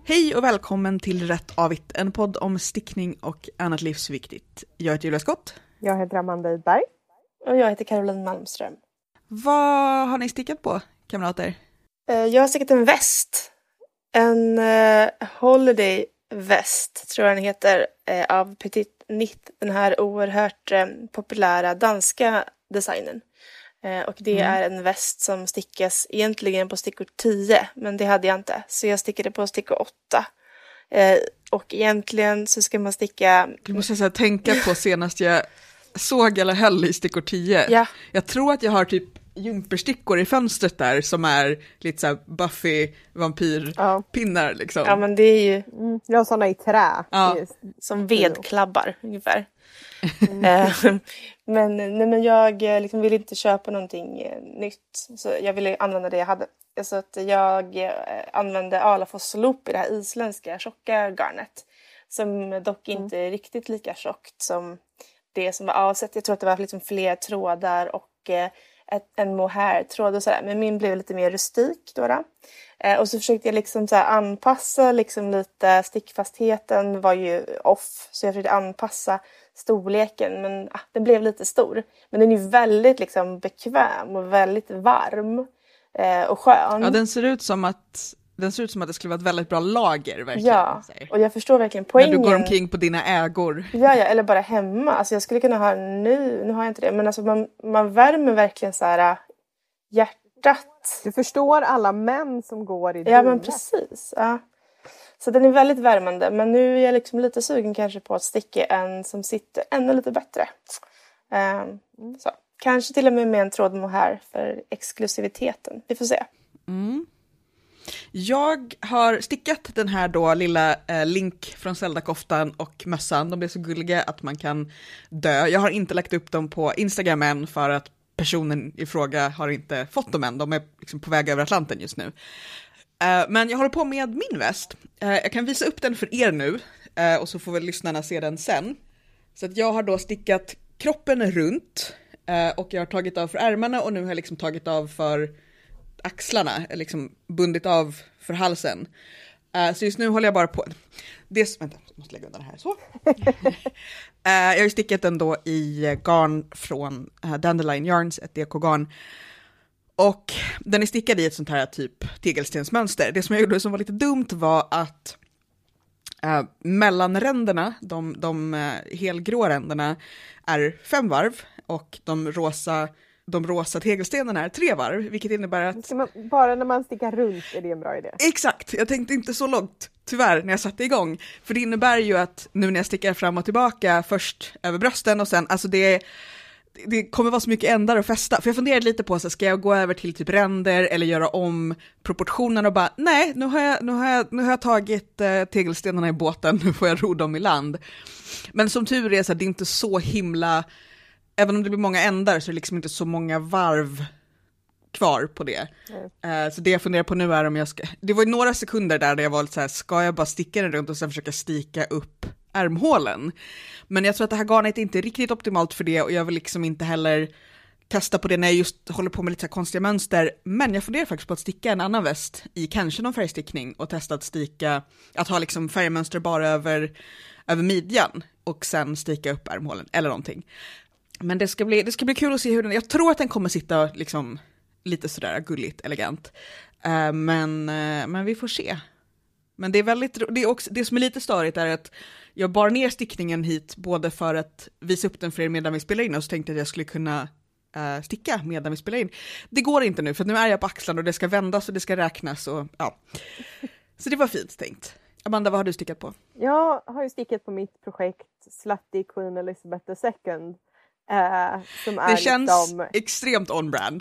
Hej och välkommen till Rätt Avigt, en podd om stickning och annat livsviktigt. Jag heter Julia Skott. Jag heter Amanda Idberg. Och jag heter Caroline Malmström. Vad har ni stickat på, kamrater? Jag har stickat en väst. En holiday väst, tror jag den heter, av Petit Knit. Den här oerhört populära danska designen. Och det är en väst som stickas egentligen på stickor 10, men det hade jag inte. Så jag stickade på stickor 8. Och egentligen så ska man sticka... Du måste säga, tänka på senast jag såg eller höll i stickor 10. Ja. Jag tror att jag har typ jumperstickor i fönstret där som är lite så här Buffy vampyrpinnar liksom. Ja, men det är ju... Jag har sådana i trä. Ja. Som vedklabbar ungefär. Men jag liksom ville inte köpa någonting nytt. Så jag ville använda det jag hade. Så att jag använde Alafos Loop i det här isländska tjocka garnet. Som dock inte är riktigt lika tjockt som det som var avsett. Jag tror att det var liksom fler trådar och en mohair-tråd och sådär. Men min blev lite mer rustik då. Och så försökte jag liksom så här anpassa liksom lite. Stickfastheten var ju off. Så jag försökte anpassa storleken. Men den blev lite stor. Men den är ju väldigt liksom bekväm och väldigt varm. Och skön. Ja, den ser ut som att det skulle vara ett väldigt bra lager verkligen. Ja, och jag förstår verkligen poängen. När du går omkring på dina ägor. Ja, eller bara hemma. Alltså jag skulle kunna ha nu har jag inte det. Men alltså man värmer verkligen så här hjärtat. Du förstår alla män som går i Ja, men precis. Ja. Så den är väldigt värmande. Men nu är jag liksom lite sugen kanske på att sticka en som sitter ännu lite bättre. Så. Kanske till och med en tråd mohair för exklusiviteten. Vi får se. Jag har stickat den här då lilla Link från Zelda-koftan och mössan. De är så gulliga att man kan dö. Jag har inte lagt upp dem på Instagram än för att personen i fråga har inte fått dem än. De är liksom på väg över Atlanten just nu. Men jag håller på med min väst. Jag kan visa upp den för er nu och så får väl lyssnarna se den sen. Så att jag har då stickat kroppen runt och jag har tagit av för ärmarna och nu har jag liksom tagit av för axlarna, liksom bundit av för halsen. Så just nu håller jag bara på. Vänta, jag måste lägga undan det här. Så. Jag har ju stickat den då i garn från Dandelion Yarns, ett DK-garn. Och den är stickad i ett sånt här typ tegelstensmönster. Det som jag gjorde som var lite dumt var att mellanränderna, de helgrå ränderna är 5 varv och de rosa tegelstenarna är 3 varv, vilket innebär att... Bara när man stickar runt är det en bra idé. Exakt, jag tänkte inte så långt, tyvärr, när jag satte igång. För det innebär ju att nu när jag stickar fram och tillbaka, först över brösten och sen, alltså det kommer vara så mycket ändar att fästa. För jag funderade lite på, så ska jag gå över till typ ränder eller göra om proportionerna och bara, nej, nu har jag tagit tegelstenarna i båten, nu får jag ro dem i land. Men som tur är så det är inte så himla... Även om det blir många ändar så är det liksom inte så många varv kvar på det. Så det jag funderar på nu är om jag ska... Det var ju några sekunder där jag var lite så här, ska jag bara sticka den runt och sen försöka sticka upp ärmhålen? Men jag tror att det här garnet är inte riktigt optimalt för det och jag vill liksom inte heller testa på det när jag just håller på med lite så här konstiga mönster. Men jag funderar faktiskt på att sticka en annan väst i kanske någon färgstickning och testa att ha liksom färgmönster bara över midjan och sen sticka upp ärmhålen eller någonting. Men det ska bli kul att se hur den... Jag tror att den kommer sitta liksom lite sådär gulligt, elegant. Men vi får se. Men det är väldigt... Det som är lite störigt är att jag bar ner stickningen hit både för att visa upp den för er medan vi spelar in och så tänkte jag att jag skulle kunna sticka medan vi spelar in. Det går inte nu för nu är jag på axlarna och det ska vändas och det ska räknas och ja. Så det var fint tänkt. Amanda, vad har du stickat på? Jag har ju stickat på mitt projekt Slutty Queen Elizabeth II. Som är det känns liksom extremt on-brand.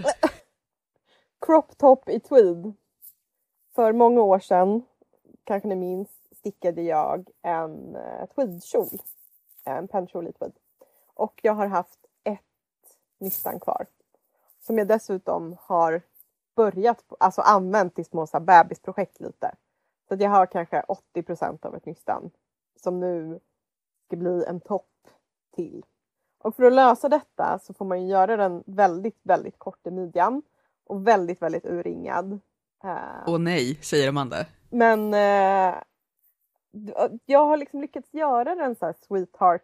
Crop top i tweed. För många år sedan, kanske ni minns, stickade jag en tweedkjol. En pennkjol i tweed. Och jag har haft ett nystan kvar. Som jag dessutom har använt i små så här bebisprojekt lite. Så att jag har kanske 80% av ett nystan. Som nu ska bli en topp till. Och för att lösa detta så får man ju göra den väldigt, väldigt kort i midjan. Och väldigt, väldigt urringad. Åh nej, säger Amanda. Men jag har liksom lyckats göra den så här sweetheart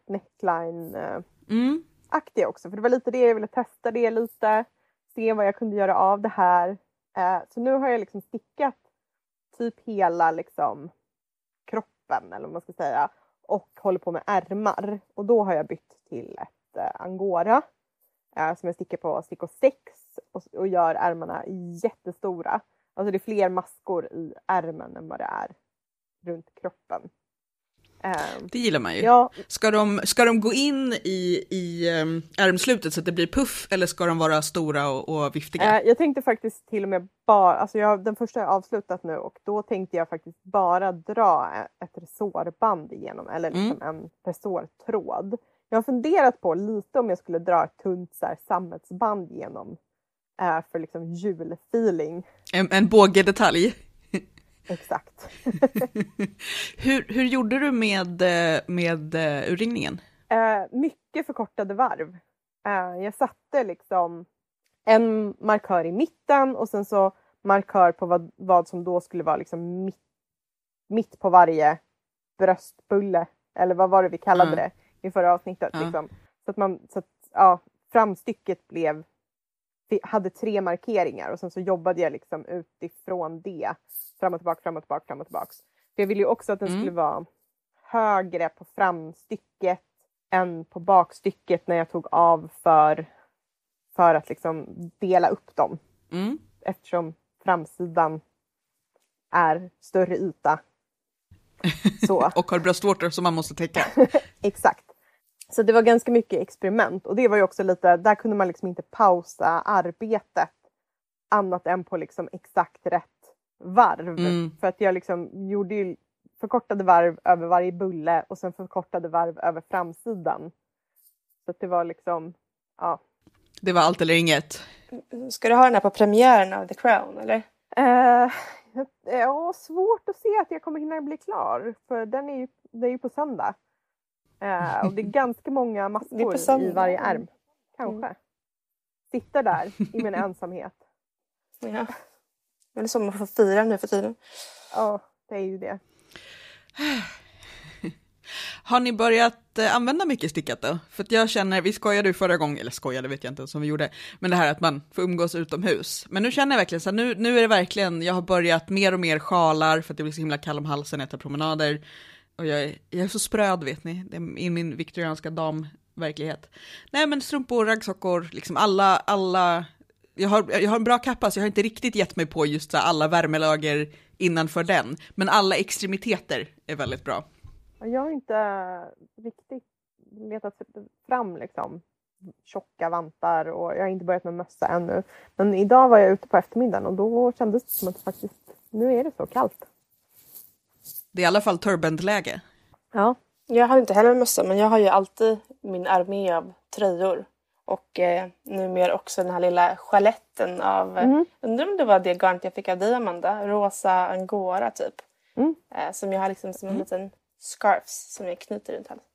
neckline-aktig också. För det var lite det jag ville testa det lite. Se vad jag kunde göra av det här. Så nu har jag liksom stickat typ hela liksom kroppen eller vad man ska säga. Och håller på med ärmar. Och då har jag bytt till ett angora. Som jag stickar på stickor 6. Och gör ärmarna jättestora. Alltså det är fler maskor i ärmen än vad det är runt kroppen. Det gillar man ju. Ja. Ska de gå in i ärmslutet så att det blir puff, eller ska de vara stora och viftiga? Jag tänkte faktiskt till och med bara, alltså den första har jag avslutat nu och då tänkte jag faktiskt bara dra ett resårband igenom, eller liksom en resårtråd. Jag har funderat på lite om jag skulle dra ett tunt så här, sammetsband igenom för liksom julfeeling. En bågedetalj. Exakt. Hur gjorde du med urringningen? Mycket förkortade varv. Jag satte liksom en markör i mitten och sen så markör på vad som då skulle vara liksom mitt på varje bröstbulle. Eller vad var det vi kallade det i förra avsnittet. Liksom. Så att framstycket hade 3 markeringar och sen så jobbade jag liksom utifrån det. Fram och tillbaka. För jag ville ju också att den skulle vara högre på framstycket än på bakstycket när jag tog av för att liksom dela upp dem. Eftersom framsidan är större yta. Så. Och har bröstvårtor som man måste täcka. Exakt. Så det var ganska mycket experiment. Och det var ju också lite, där kunde man liksom inte pausa arbetet annat än på liksom exakt rätt varv. För att jag liksom gjorde ju förkortade varv över varje bulle och sen förkortade varv över framsidan. Så att det var liksom, ja. Det var allt eller inget. Ska du ha den här på premiären av The Crown, eller? Ja, svårt att se att jag kommer hinna bli klar. För det är ju på söndag. Och det är ganska många maskor i varje ärm. Kanske. Sitter där i min ensamhet. Ja. Det är som man får fira nu för tiden. Ja, det är ju det. Har ni börjat använda mycket stickat då? För att jag känner, vi skojade ju förra gången, eller skojade vet jag inte som vi gjorde, men det här att man får umgås utomhus. Men nu känner jag verkligen så här, nu är det verkligen, jag har börjat mer och mer sjalar för att det blir så himla kall om halsen när jag tar promenader. Och jag är så spröd vet ni, det är i min viktorianska damverklighet. Nej men strumpor, raggsockor, liksom alla jag har en bra kappa så jag har inte riktigt gett mig på just så alla värmelager innanför den. Men alla extremiteter är väldigt bra. Jag har inte riktigt letat fram liksom tjocka vantar och jag har inte börjat med mössa ännu. Men idag var jag ute på eftermiddagen och då kändes det som att faktiskt, nu är det så kallt. Det är i alla fall turbandläge. Ja. Jag har inte heller mössa men jag har ju alltid min armé av tröjor. Och numera också den här lilla chaletten av, undrar om det var det garnet jag fick av dig Amanda, rosa angora typ. Som jag har liksom som en liten scarfs som jag knyter runt halsen.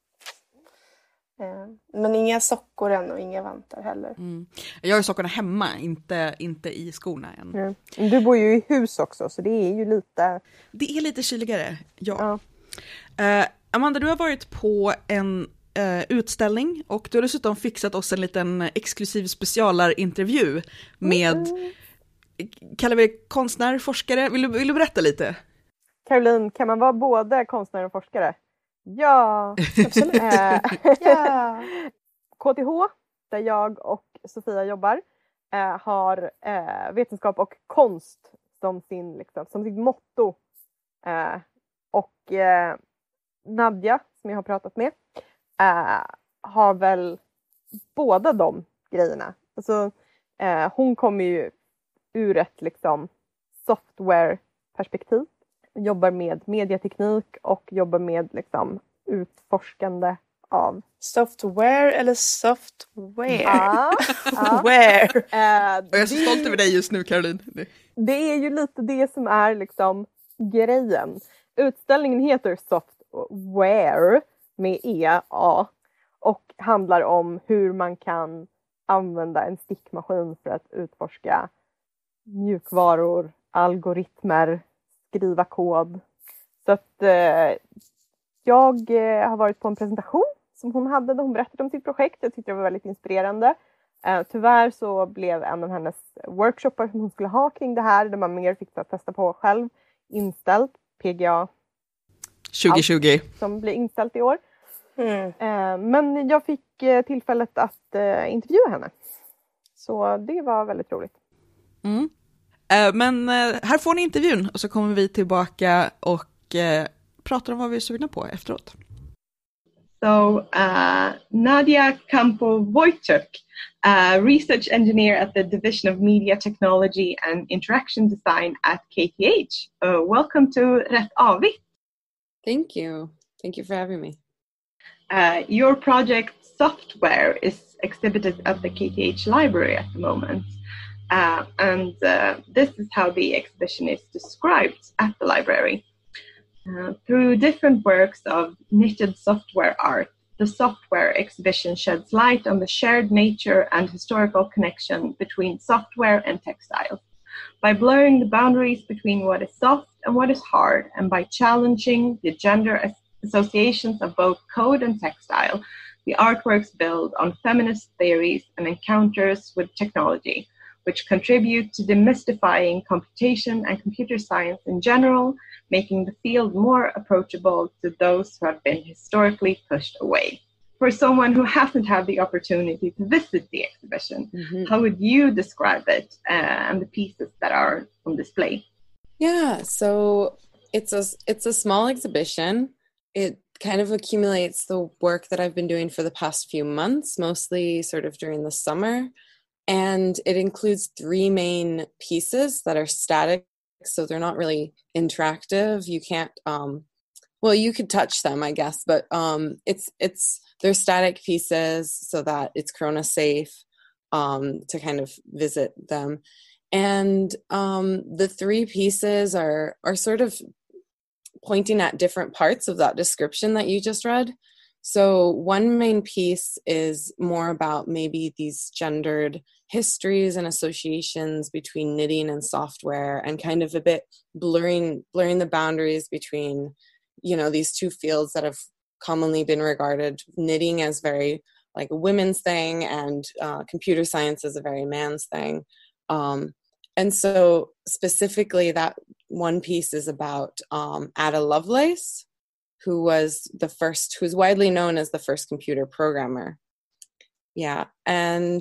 Men inga sockor än och inga vantar heller. Jag har ju sockorna hemma, inte i skorna än. Du bor ju i hus också så det är ju lite... Det är lite kyligare, ja. Amanda, du har varit på en utställning och du har dessutom fixat oss en liten exklusiv specialarintervju med, kallar vi det konstnär, forskare? Vill du berätta lite? Caroline, kan man vara både konstnär och forskare? Ja, absolut. Ja. KTH, där jag och Sofia jobbar, har vetenskap och konst som sitt motto. Och Nadja, som jag har pratat med, har väl båda de grejerna. Alltså, hon kommer ju ur ett liksom software-perspektiv. Jobbar med mediateknik och jobbar med liksom utforskande av... Software eller software? Where? Jag är så stolt över dig just nu, Caroline. Det är ju lite det som är liksom grejen. Utställningen heter Software med EA och handlar om hur man kan använda en stickmaskin för att utforska mjukvaror, algoritmer, skriva kod. Så att jag har varit på en presentation som hon hade där hon berättade om sitt projekt. Jag tyckte det var väldigt inspirerande. Tyvärr så blev en av hennes workshoppar som hon skulle ha kring det här, där man mer fick testa på själv, inställt. PGA 2020. Som blir inställt i år. Men jag fick tillfället att intervjua henne. Så det var väldigt roligt. Men här får ni intervjun och så kommer vi tillbaka och pratar om vad vi är sugna på efteråt. So Nadia Campo-Wojcik, research engineer at the Division of Media Technology and Interaction Design at KTH. Welcome to Rätt Avigt. Thank you. Thank you for having me. Your project Software is exhibited at the KTH library at the moment. And this is how the exhibition is described at the library. Through different works of knitted software art, the software exhibition sheds light on the shared nature and historical connection between software and textiles. By blurring the boundaries between what is soft and what is hard, and by challenging the gender associations of both code and textile, the artworks build on feminist theories and encounters with technology, which contribute to demystifying computation and computer science in general, making the field more approachable to those who have been historically pushed away. For someone who hasn't had the opportunity to visit the exhibition, how would you describe it and the pieces that are on display? Yeah, so it's a small exhibition. It kind of accumulates the work that I've been doing for the past few months, mostly sort of during the summer. And it includes 3 main pieces that are static, so they're not really interactive. You can't, well, you could touch them, I guess, but they're static pieces so that it's Corona safe to kind of visit them. And the 3 pieces are sort of pointing at different parts of that description that you just read. So one main piece is more about maybe these gendered histories and associations between knitting and software, and kind of a bit blurring the boundaries between, these 2 fields that have commonly been regarded, knitting as very like a women's thing and computer science as a very man's thing. And so specifically that one piece is about Ada Lovelace, who's widely known as the first computer programmer. Yeah. And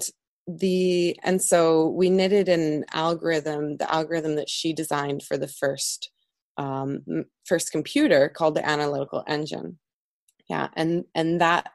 so we knitted an algorithm, the algorithm that she designed for the first computer, called the analytical engine. Yeah. And that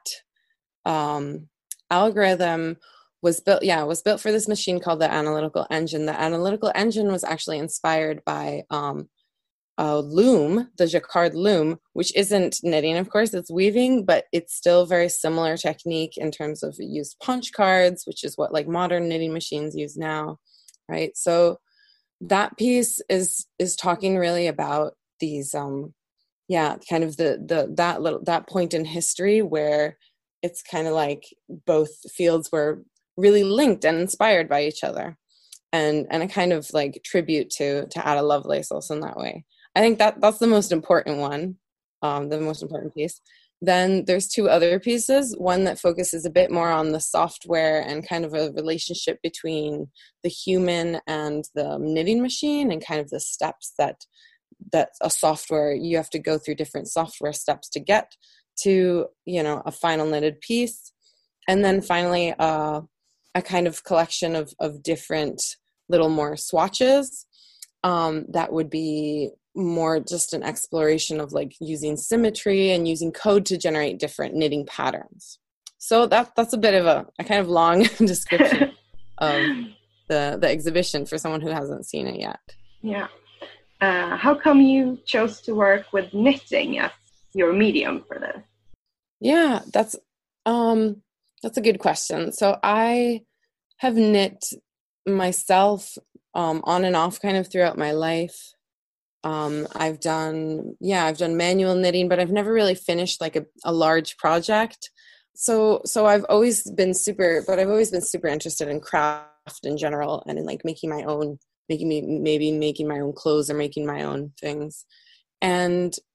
algorithm was built for this machine called the analytical engine. The analytical engine was actually inspired by a loom, the jacquard loom, which isn't knitting, of course, it's weaving, but it's still very similar technique in terms of it used punch cards, which is what like modern knitting machines use now, right? So that piece is talking really about these, kind of that point in history where it's kind of like both fields were really linked and inspired by each other, and a kind of like tribute to Ada Lovelace also in that way. I think that's the most important one, the most important piece. Then there's 2 other pieces, one that focuses a bit more on the software and kind of a relationship between the human and the knitting machine, and kind of the steps that a software, you have to go through different software steps to get to, a final knitted piece. And then finally, a kind of collection of different little more swatches that would be more just an exploration of like using symmetry and using code to generate different knitting patterns. So that's a bit of a kind of long description of the exhibition for someone who hasn't seen it yet. Yeah. How come you chose to work with knitting as your medium for this? Yeah, that's a good question. So I have knit myself on and off kind of throughout my life. I've done manual knitting, but I've never really finished like a large project. So I've always been super interested in craft in general, and in like making my own clothes or making my own things. And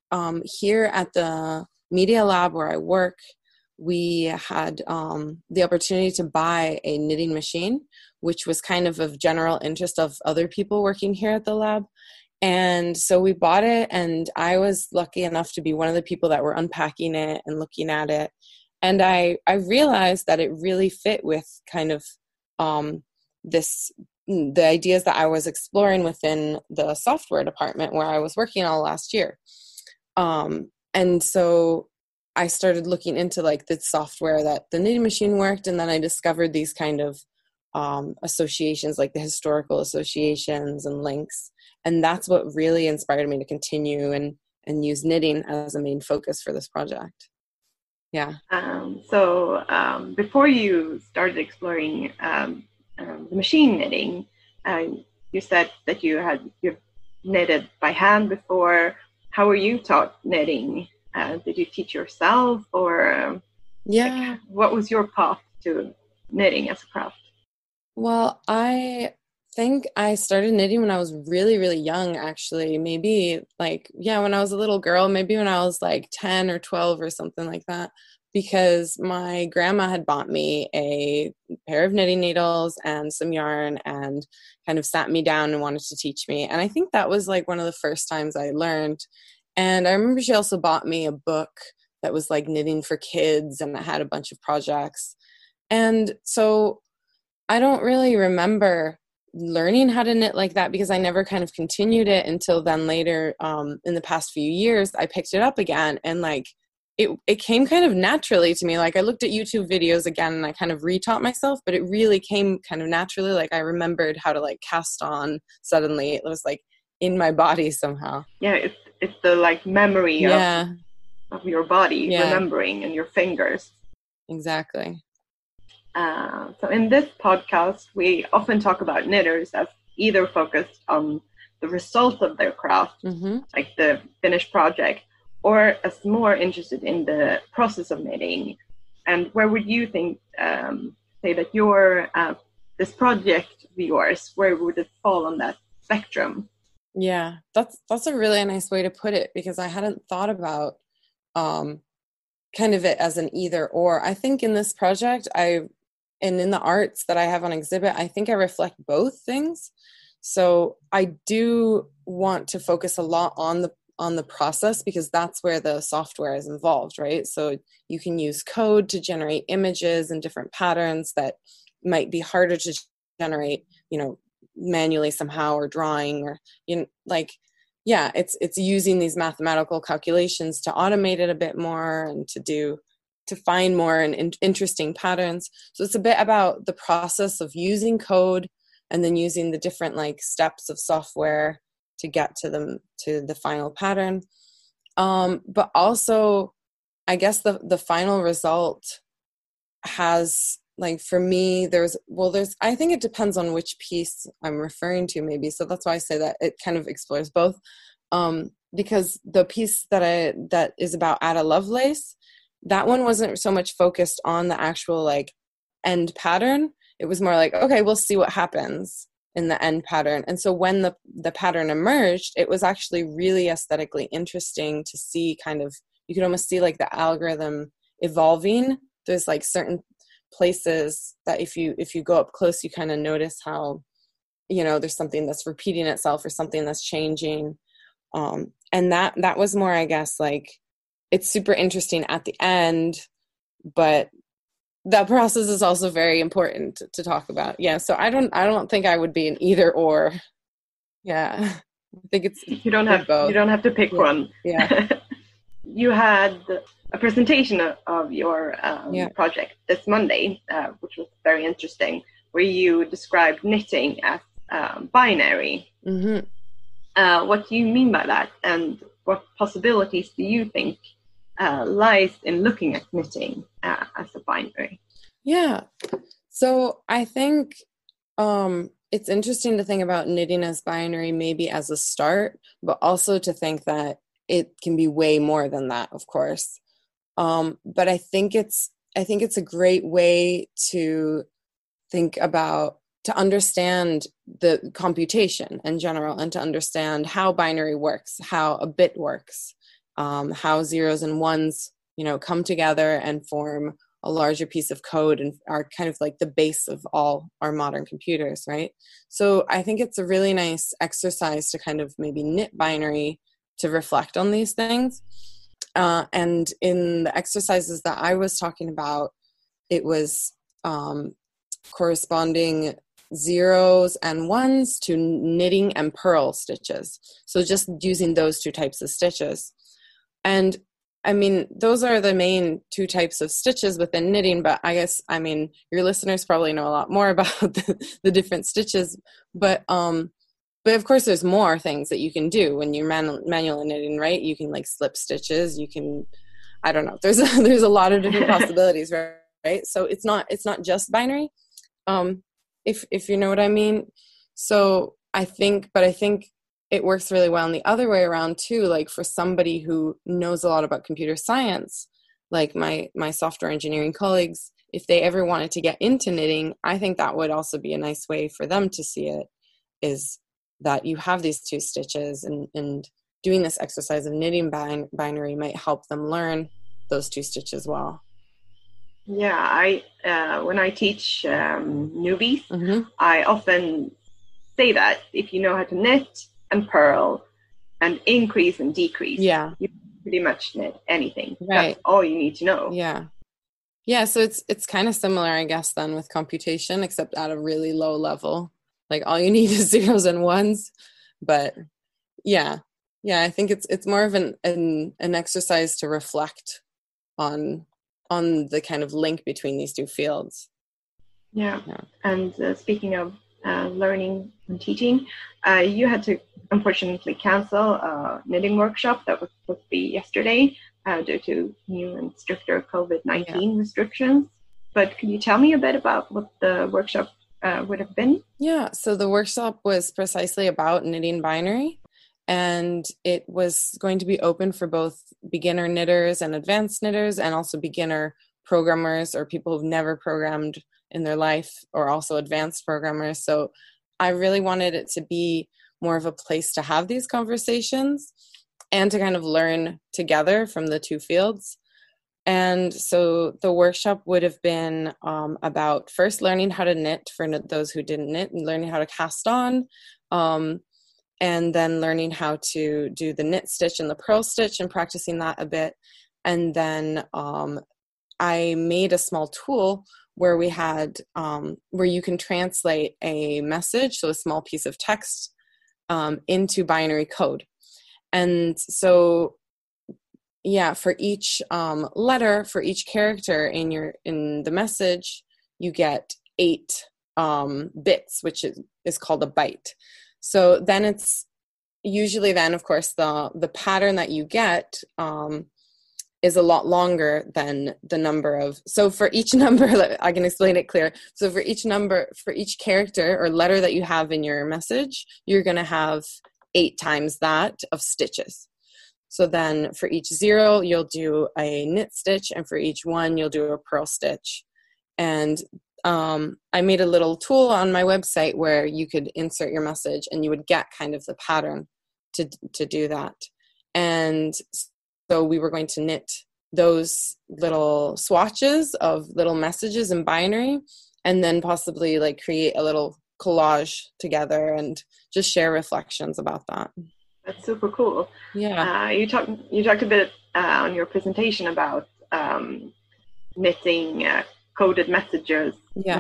here at the Media Lab where I work, we had the opportunity to buy a knitting machine, which was kind of general interest of other people working here at the lab. And so we bought it, and I was lucky enough to be one of the people that were unpacking it and looking at it. And I realized that it really fit with kind of the ideas that I was exploring within the software department where I was working all last year. And so I started looking into like the software that the knitting machine worked, and then I discovered these kind of associations, like the historical associations and links. And that's what really inspired me to continue and use knitting as a main focus for this project. Yeah. So before you started exploring the machine knitting, you said that you've knitted by hand before. How were you taught knitting? Did you teach yourself, or like, what was your path to knitting as a craft? Well, I think I started knitting when I was really, really young, actually. Maybe when I was a little girl, maybe when I was like 10 or 12 or something like that, because my grandma had bought me a pair of knitting needles and some yarn and kind of sat me down and wanted to teach me. And I think that was like one of the first times I learned. And I remember she also bought me a book that was like knitting for kids, and it had a bunch of projects. And so I don't really remember learning how to knit like that, because I never kind of continued it until then later. In the past few years, I picked it up again, and like it came kind of naturally to me. Like I looked at YouTube videos again and I kind of retaught myself, but it really came kind of naturally. Like I remembered how to like cast on suddenly. It was like in my body somehow. Yeah, it's the like memory of your body remembering, and your fingers. Exactly. So in this podcast, we often talk about knitters as either focused on the result of their craft, like the finished project, or as more interested in the process of knitting. And where would you think, say that your this project of yours, where would it fall on that spectrum? Yeah, that's a really nice way to put it, because I hadn't thought about kind of it as an either or. I think in this project, and in the arts that I have on exhibit, I think I reflect both things. So I do want to focus a lot on the process, because that's where the software is involved, right? So you can use code to generate images and different patterns that might be harder to generate, manually somehow, or drawing, or it's using these mathematical calculations to automate it a bit more and to find more and interesting patterns. So it's a bit about the process of using code and then using the different like steps of software to get to the final pattern. But also, I guess the final result has, like, for me, I think it depends on which piece I'm referring to, maybe. So that's why I say that it kind of explores both. Because the piece that is about Ada Lovelace, that one wasn't so much focused on the actual like end pattern. It was more like, okay, we'll see what happens in the end pattern. And so when the pattern emerged, it was actually really aesthetically interesting to see. Kind of, you could almost see like the algorithm evolving. There's like certain places that if you go up close, you kind of notice how, there's something that's repeating itself or something that's changing. And that was more, I guess, like, it's super interesting at the end, but that process is also very important to talk about. Yeah. So I don't think I would be an either or. Yeah. I think you don't have to pick one. Yeah. You had a presentation of your project this Monday, which was very interesting, where you described knitting as binary. What do you mean by that, and what possibilities do you think lies in looking at knitting as a binary? Yeah. So I think it's interesting to think about knitting as binary, maybe as a start, but also to think that it can be way more than that, of course. But I think it's a great way to think about, to understand the computation in general, and to understand how binary works, how a bit works. how zeros and ones, come together and form a larger piece of code and are kind of like the base of all our modern computers, right? So I think it's a really nice exercise to kind of maybe knit binary to reflect on these things. And in the exercises that I was talking about, it was corresponding zeros and ones to knitting and purl stitches. So just using those two types of stitches. And I mean, those are the main two types of stitches within knitting, but I guess, your listeners probably know a lot more about the different stitches, but of course there's more things that you can do when you're manual knitting, right? You can like slip stitches, you can, I don't know, there's a lot of different possibilities, right? So it's not just binary, if you know what I mean. So I think it works really well in the other way around too. Like for somebody who knows a lot about computer science, like my software engineering colleagues, if they ever wanted to get into knitting, I think that would also be a nice way for them to see it, is that you have these two stitches, and doing this exercise of knitting binary might help them learn those two stitches well. Yeah, I when I teach newbies, I often say that if you know how to knit and purl and increase and decrease, you pretty much knit anything. Right. That's all you need to know. Yeah. So it's kind of similar, I guess, then with computation, except at a really low level. Like all you need is zeros and ones. But yeah, I think it's more of an exercise to reflect on the kind of link between these two fields. Yeah. And speaking of learning and teaching, you had to unfortunately cancel a knitting workshop that was supposed to be yesterday due to new and stricter COVID-19 restrictions. But could you tell me a bit about what the workshop would have been? Yeah, so the workshop was precisely about knitting binary, and it was going to be open for both beginner knitters and advanced knitters, and also beginner programmers or people who've never programmed in their life, or also advanced programmers. So I really wanted it to be more of a place to have these conversations and to kind of learn together from the two fields. And so the workshop would have been about first learning how to knit for those who didn't knit, and learning how to cast on, and then learning how to do the knit stitch and the purl stitch and practicing that a bit. And then I made a small tool where we had, where you can translate a message, so a small piece of text, into binary code. And so, for each letter, for each character in the message, you get 8 bits, which is called a byte. So then it's usually then, of course, the pattern that you get is a lot longer than the number of, so for each number, I can explain it clear. So for each character or letter that you have in your message, you're going to have 8 times that of stitches. So then for each 0, you'll do a knit stitch, and for each 1, you'll do a purl stitch. And I made a little tool on my website where you could insert your message and you would get kind of the pattern to do that. And so we were going to knit those little swatches of little messages in binary, and then possibly like create a little collage together and just share reflections about that. That's super cool. Yeah. You talked a bit on your presentation about knitting coded messages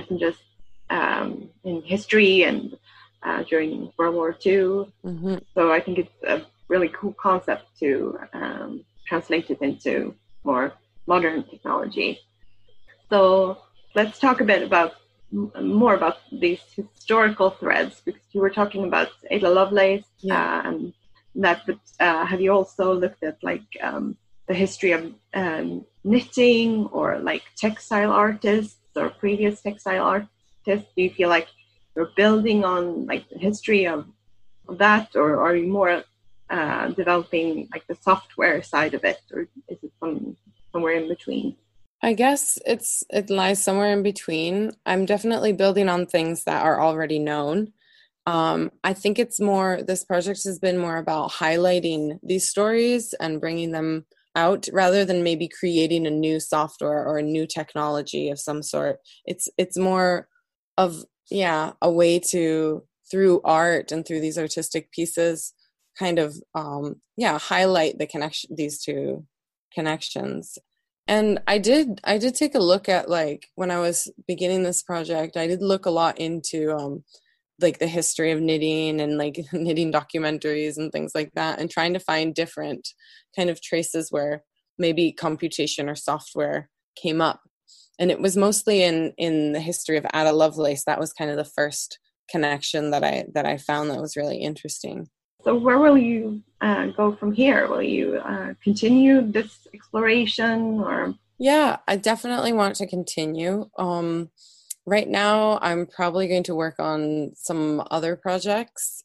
in history and during World War II. Mm-hmm. So I think it's a really cool concept to translate it into more modern technology. So let's talk a bit more about these historical threads, because you were talking about Ada Lovelace and that, but have you also looked at like the history of knitting or like textile artists or previous textile artists? Do you feel like you're building on like the history of that, or are you more developing like the software side of it, or is it somewhere in between? I guess it lies somewhere in between. I'm definitely building on things that are already known. I think this project has been more about highlighting these stories and bringing them out rather than maybe creating a new software or a new technology of some sort. It's more of, a way to, through art and through these artistic pieces, kind of, highlight these two connections. And I did take a look at, like, when I was beginning this project, I did look a lot into, like the history of knitting and like knitting documentaries and things like that, and trying to find different kind of traces where maybe computation or software came up. And it was mostly in the history of Ada Lovelace. That was kind of the first connection that I found that was really interesting. So where will you go from here? Will you continue this exploration, or? Yeah, I definitely want to continue. Right now, I'm probably going to work on some other projects,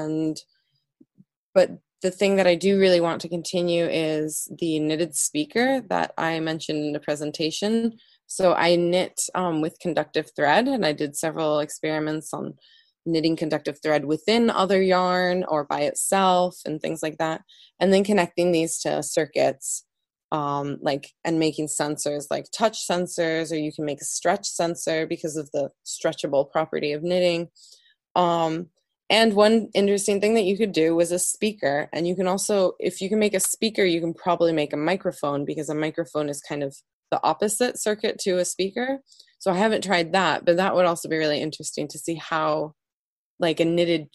but the thing that I do really want to continue is the knitted speaker that I mentioned in the presentation. So I knit with conductive thread, and I did several experiments on knitting conductive thread within other yarn or by itself and things like that, and then connecting these to circuits. And making sensors like touch sensors, or you can make a stretch sensor because of the stretchable property of knitting. And one interesting thing that you could do was a speaker. And you can also, if you can make a speaker, you can probably make a microphone, because a microphone is kind of the opposite circuit to a speaker. So I haven't tried that, but that would also be really interesting to see how, like, a knitted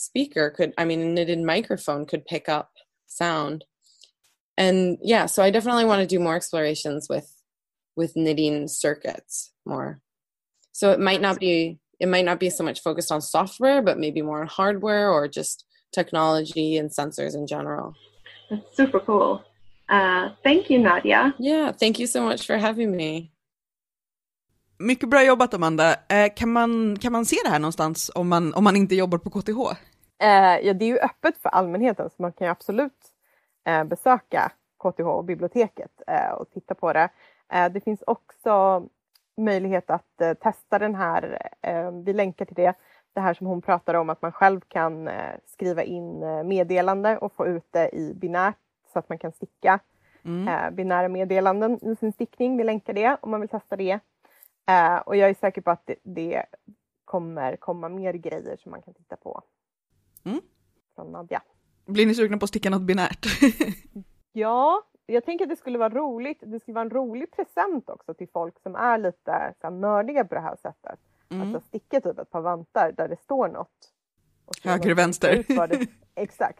knitted microphone could pick up sound. And so I definitely want to do more explorations with knitting circuits more. So it might not be so much focused on software, but maybe more on hardware or just technology and sensors in general. That's super cool. Thank you, Nadia. Yeah, thank you so much for having me. Mycket bra jobbat, Amanda. Kan man se det här någonstans om man inte jobbar på KTH? Ja, det är ju öppet för allmänheten, så man kan ju absolut besöka KTH och biblioteket och titta på det. Det finns också möjlighet att testa den här, vi länkar till det här som hon pratar om, att man själv kan skriva in meddelande och få ut det i binärt, så att man kan sticka binära meddelanden i sin stickning. Vi länkar det om man vill testa det. Och jag är säker på att det kommer komma mer grejer som man kan titta på. Från Nadia. Blir ni sugna på att sticka något binärt? Ja, jag tänker att det skulle vara roligt. Det skulle vara en rolig present också till folk som är lite så här nördiga på det här sättet. Alltså sticka typ ett par vantar där det står något. Höger och vänster. Exakt.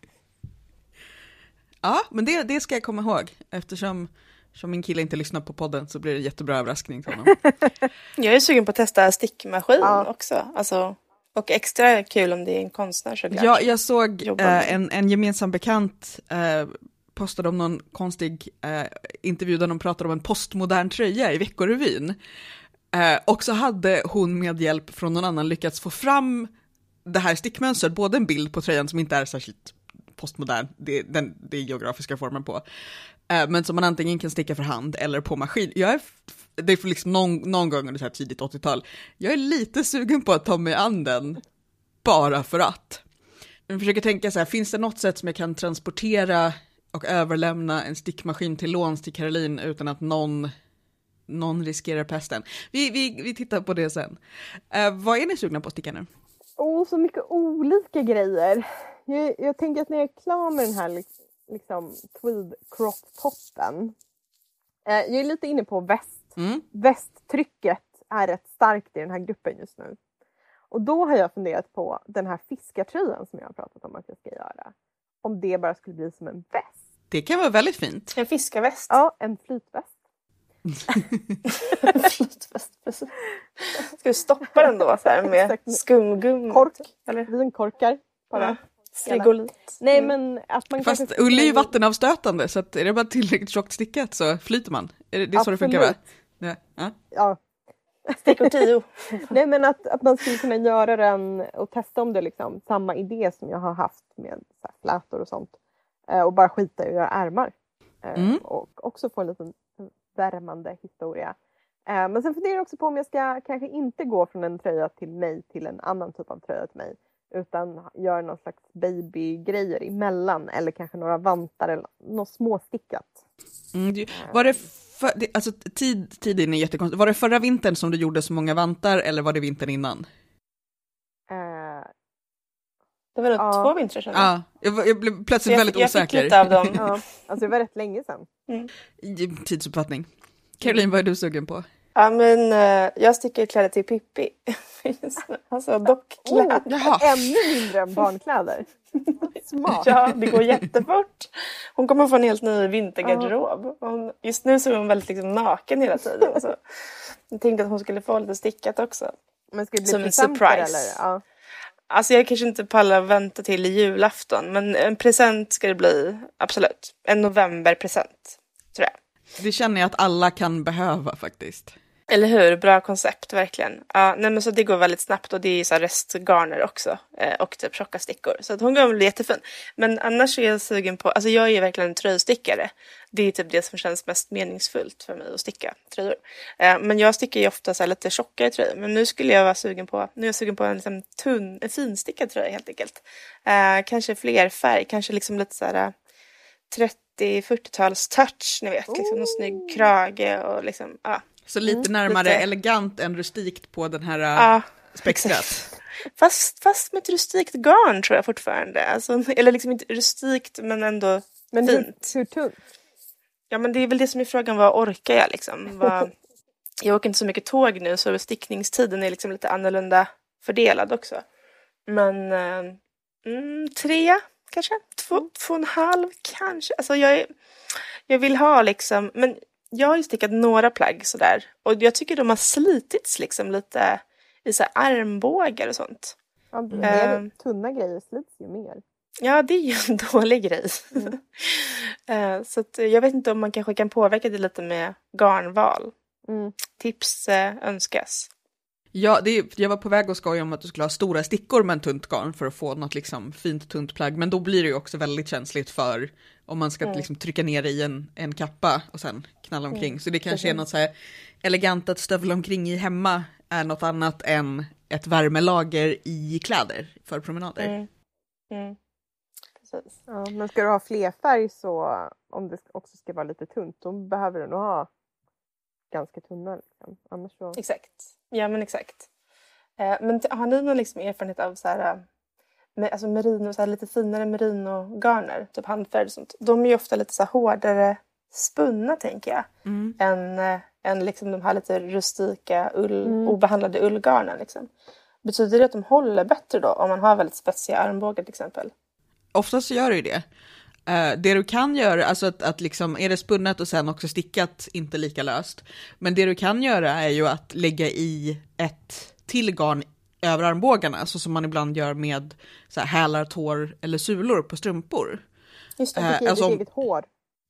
Ja, men det ska jag komma ihåg. Eftersom min kille inte lyssnar på podden, så blir det en jättebra överraskning till honom. Jag är sugen på att testa stickmaskin också. Alltså, och extra kul om det är en konstnär, såklart. Ja, jag såg en gemensam bekant postade om någon konstig intervju där de pratade om en postmodern tröja i Veckorevyn. Och så hade hon med hjälp från någon annan lyckats få fram det här stickmönstret, både en bild på tröjan som inte är särskilt postmodern, det är geografiska formen på, men som man antingen kan sticka för hand eller på maskin. Det är för liksom någon gång under så här tidigt 80-tal. Jag är lite sugen på att ta mig an den, bara för att. Jag försöker tänka så här, finns det något sätt som jag kan transportera och överlämna en stickmaskin till låns till Caroline utan att någon riskerar pesten? Vi tittar på det sen. Vad är ni sugna på att sticka nu? Så mycket olika grejer. Jag tänker att när jag är klar med den här liksom tweed crop-toppen. Jag är lite inne på väst. Västtrycket är rätt starkt i den här gruppen just nu. Och då har jag funderat på den här fiskartröjan som jag har pratat om att jag ska göra. Om det bara skulle bli som en väst. Det kan vara väldigt fint. En fiskarväst. Ja, en flytväst. Flytväst, precis. Ska vi stoppa den då så här med skumgum? Kork, eller vinkorkar. Bara. Frigolit. Nej, men att man fast ull är ju vattenavstötande, så att är det bara tillräckligt tjockt stickat så flyter man. Det är så det funkar, va? Ja. Stickor 10. Nej, men att man skulle kunna göra den och testa om det liksom samma idé som jag har haft med så här flätor och sånt. Och bara skita i att göra ärmar. Och också få en liten värmande historia. Men sen funderar jag också på om jag ska kanske inte gå från en tröja till mig till en annan typ av tröja till mig. utan gör någon slags babygrejer emellan eller kanske några vantar eller något småstickat. Var det alltså tiden är jättekonstigt. Var det förra vintern som du gjorde så många vantar eller var det vintern innan? Det var nog 2 vintrar sedan. Ja, jag blev plötsligt väldigt osäker. Jag fick lite av dem. Ja, alltså det var rätt länge sedan. Tidsuppfattning. Caroline, vad är du sugen på? Ja, men jag sticker kläder till Pippi. Alltså dockkläder. Ännu mindre än barnkläder. Smart. Ja, det går jättefort. Hon kommer få en helt ny vintergarderob. Just nu så är hon väldigt liksom naken hela tiden. Så jag tänkte att hon skulle få lite stickat också. Men ska det bli som en surprise. Eller? Ja. Alltså jag kanske inte pallar vänta till julafton. Men en present ska det bli, absolut. En novemberpresent, tror jag. Det känner jag att alla kan behöva faktiskt. Eller hur? Bra koncept, verkligen. Ja, nej, men så det går väldigt snabbt och det är så här restgarner också. Och typ tjocka stickor. Så att hon kommer bli jättefin. Men annars är jag sugen på, alltså jag är verkligen en tröjstickare. Det är typ det som känns mest meningsfullt för mig att sticka tröjor. Men jag stickar ju ofta så här lite tjockare tröjor. Men nu skulle jag vara sugen på, en liksom en finstickad tröja helt enkelt. Kanske fler färg, kanske liksom lite så här 30-40-tals touch, ni vet. Liksom någon snygg krage och liksom, ja. Så lite närmare elegant än rustikt på den här spektrat. Fast med ett rustikt garn tror jag fortfarande. Alltså, eller liksom inte rustikt men ändå fint. Hur tunt? Ja, men det är väl det som är frågan, vad orkar jag liksom? Jag åker inte så mycket tåg nu så stickningstiden är liksom lite annorlunda fördelad också. Men 3 kanske? 2,5 kanske? Alltså jag vill ha liksom, men jag har ju stickat några plagg sådär. Och jag tycker de har slitits liksom lite i så här armbågar och sånt. Ja, tunna grejer slits ju mer. Ja, det är ju en dålig grej. Så att jag vet inte om man kanske kan påverka det lite med garnval. Tips önskas. Ja, jag var på väg att skoja om att du skulle ha stora stickor med en tunt garn för att få något liksom fint tunt plagg. Men då blir det ju också väldigt känsligt för om man ska liksom trycka ner i en kappa och sen knalla omkring. Så det kanske är något så här elegant att stövla omkring i hemma är något annat än ett värmelager i kläder för promenader. Precis. Ja, men ska du ha flerfärg så om det också ska vara lite tunt då behöver du nog ha ganska tunna. Liksom. Annars så... Exakt. Ja, men exakt. Men har ni någon liksom erfarenhet av så här, alltså merino, så här lite finare merino-garner, typ handfärg och sånt? De är ju ofta lite så här hårdare spunna, tänker jag, än liksom de här lite rustika obehandlade ullgarnen. Liksom. Betyder det att de håller bättre då om man har väldigt spetsiga armbågar till exempel? Oftast så gör det ju det. Det du kan göra, alltså att liksom, är det spunnet och sen också stickat, inte lika löst. Men det du kan göra är ju att lägga i ett till garn över armbågarna, så som man ibland gör med så här hälar, tår eller sulor på strumpor. Just det, ditt eget hår.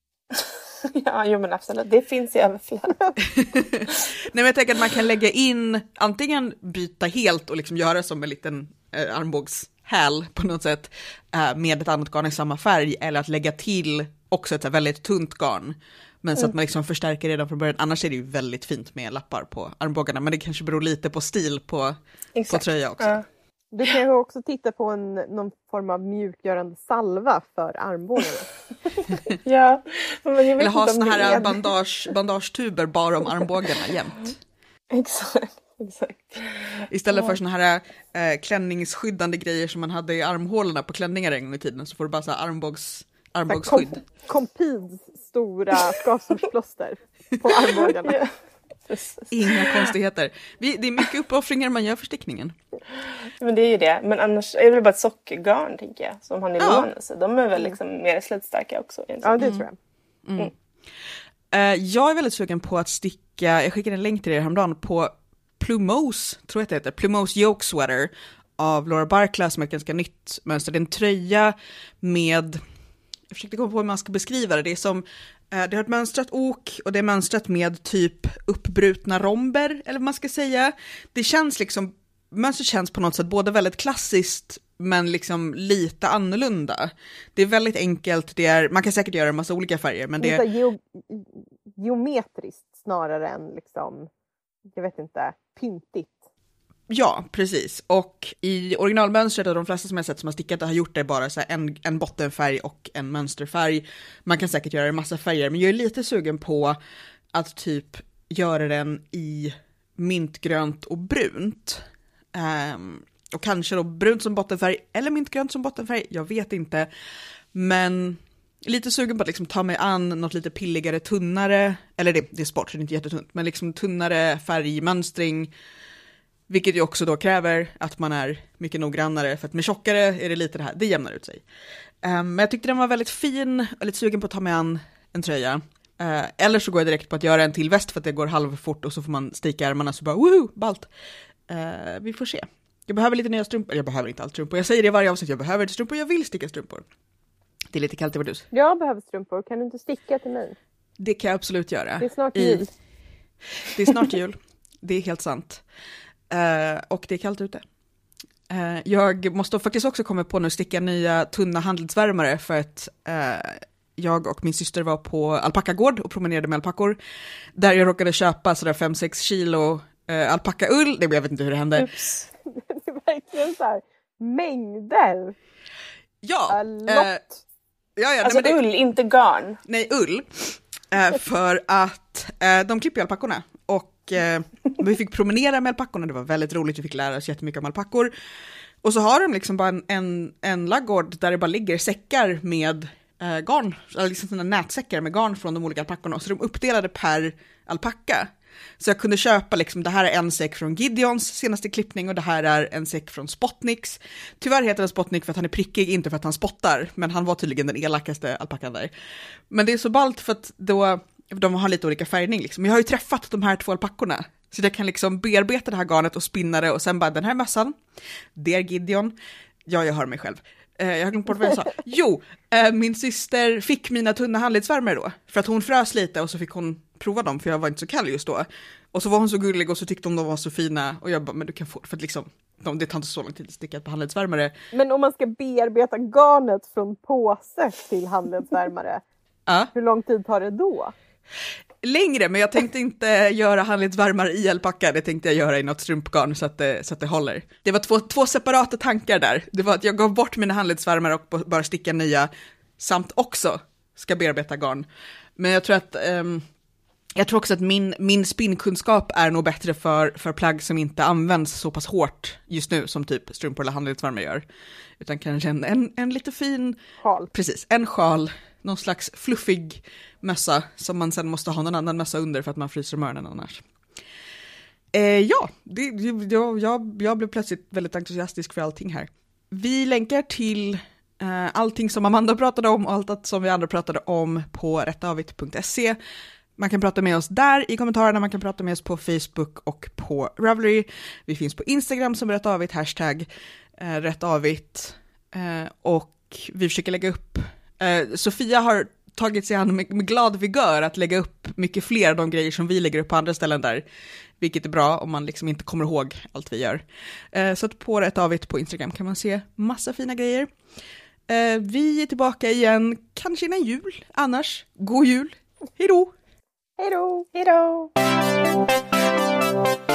Ja, jo men absolut. Det finns i överflöd. Nej, men jag tänker att man kan lägga in, antingen byta helt och liksom göra som en liten armbågshäl på något sätt med ett annat garn i samma färg, eller att lägga till också ett väldigt tunt garn. Men så att man liksom förstärker redan från början. Annars är det ju väldigt fint med lappar på armbågarna. Men det kanske beror lite på stil på tröja också. Ja. Du kan ju också titta på någon form av mjukgörande salva för armbågarna. Ja. Eller ha såna här bandagetuber bara om armbågarna jämt. Exakt. Istället för såna här klänningsskyddande grejer som man hade i armhålorna på klänningar en gång i tiden, så får du bara så här armbågsskydd. Compids stora skavsårsplåster på armbågarna. Ja. Inga konstigheter. Det är mycket uppoffringar man gör för stickningen. Men det är ju det. Men annars är det väl bara ett sockergarn, tänker jag, som har nylon. Så de är väl liksom mer slitstarka också. Ja, det tror jag. Jag är väldigt sugen på att sticka, jag skickade en länk till er häromdagen, på Plumose, tror jag det heter, Plumose Yoke Sweater av Laura Barkla, som är ett ganska nytt mönster. Det är en tröja med, jag försökte komma på hur man ska beskriva det. Det är som, det har ett mönstrat ok och det är mönstrat med typ uppbrutna romber, eller vad man ska säga. Det känns liksom, mönstret känns på något sätt både väldigt klassiskt men liksom lite annorlunda. Det är väldigt enkelt, man kan säkert göra en massa olika färger, men det är geometriskt snarare än liksom, jag vet inte, pyntigt. Ja, precis. Och i originalmönstret, och de flesta som jag sett som har stickat har gjort det bara så här en bottenfärg och en mönsterfärg. Man kan säkert göra det massa färger, men jag är lite sugen på att typ göra den i mintgrönt och brunt. Och kanske då brunt som bottenfärg eller mintgrönt som bottenfärg, jag vet inte. Men lite sugen på att liksom ta mig an något lite pilligare, tunnare, eller det är sport så det är inte jättetunt, men liksom tunnare färgmönstring. Vilket ju också då kräver att man är mycket noggrannare, för att med tjockare är det lite det här, det jämnar ut sig. Men jag tyckte den var väldigt fin och lite sugen på att ta mig an en tröja. Eller så går jag direkt på att göra en till väst för att det går halvfort och så får man sticka ärmarna så bara woho, ballt. Vi får se. Jag behöver lite nya strumpor, jag behöver inte allt strumpor. Jag säger det i varje avsnitt, jag behöver inte strumpor, jag vill sticka strumpor. Det är lite kallt i vårt hus. Jag behöver strumpor, kan du inte sticka till mig? Det kan jag absolut göra. Det är snart jul. Det är snart jul, det är helt sant. Och det är kallt ute. Jag måste faktiskt också komma på nu sticka nya tunna handledsvärmare för att jag och min syster var på alpackagård och promenerade med alpackor. Där jag råkade köpa sådär 5-6 kilo alpackaull. Jag vet inte hur det hände. Ups. Det är verkligen så här mängder. Ja. Ja, alltså nej, ull, inte garn. Nej, ull. För att de klipper alpackorna. Och vi fick promenera med alpackorna, det var väldigt roligt, vi fick lära oss jättemycket om alpackor. Och så har de liksom bara en laggård där det bara ligger säckar med garn, eller liksom sådana nätsäckar med garn från de olika alpackorna. Så de uppdelade per alpacka. Så jag kunde köpa liksom, det här är en säck från Gideons senaste klippning och det här är en säck från Spotniks. Tyvärr heter den Spotnik för att han är prickig, inte för att han spottar, men han var tydligen den elakaste alpackan där. Men det är så ballt för att då de har lite olika färgning liksom. Jag har ju träffat de här 2 alpackorna. Så jag kan liksom bearbeta det här garnet och spinna det och sen bara den här mössan, det är Gideon. Ja, jag hör mig själv. Jag har glömt bort vad jag sa. Jo, min syster fick mina tunna handledsvärmare då. För att hon frös lite och så fick hon prova dem för jag var inte så kall just då. Och så var hon så gullig och så tyckte de var så fina. Och jag bara, men du kan få, för att liksom, det tar inte så lång tid att sticka på handledsvärmare. Men om man ska bearbeta garnet från påse till handledsvärmare, hur lång tid tar det då? Längre, men jag tänkte inte göra handledsvärmare i alpacka, det tänkte jag göra i något strumpgarn så att det håller. Det var två separata tankar där. Det var att jag gav bort mina handledsvärmare och bara sticka nya, samt också ska bearbeta garn. Men jag tror också att min spinnkunskap är nog bättre för plagg som inte används så pass hårt just nu som typ strumpor eller handledsvärmare gör. Utan kanske en lite fin sjal. Precis, en sjal. Någon slags fluffig mössa som man sen måste ha någon annan mössa under för att man fryser om öronen annars. Jag blev plötsligt väldigt entusiastisk för allting här. Vi länkar till allting som Amanda pratade om och allt som vi andra pratade om på rättavit.se. Man kan prata med oss där i kommentarerna, man kan prata med oss på Facebook och på Ravelry. Vi finns på Instagram som rättavit, hashtag rättavit. Och vi försöker lägga upp Sofia har tagit sig an med glad vigör att lägga upp mycket fler av de grejer som vi lägger upp på andra ställen där, vilket är bra om man liksom inte kommer ihåg allt vi gör. Så att på Rättavit på Instagram kan man se massa fina grejer. Vi är tillbaka igen, kanske innan jul, annars, god jul, hejdå! Hejdå! Hejdå!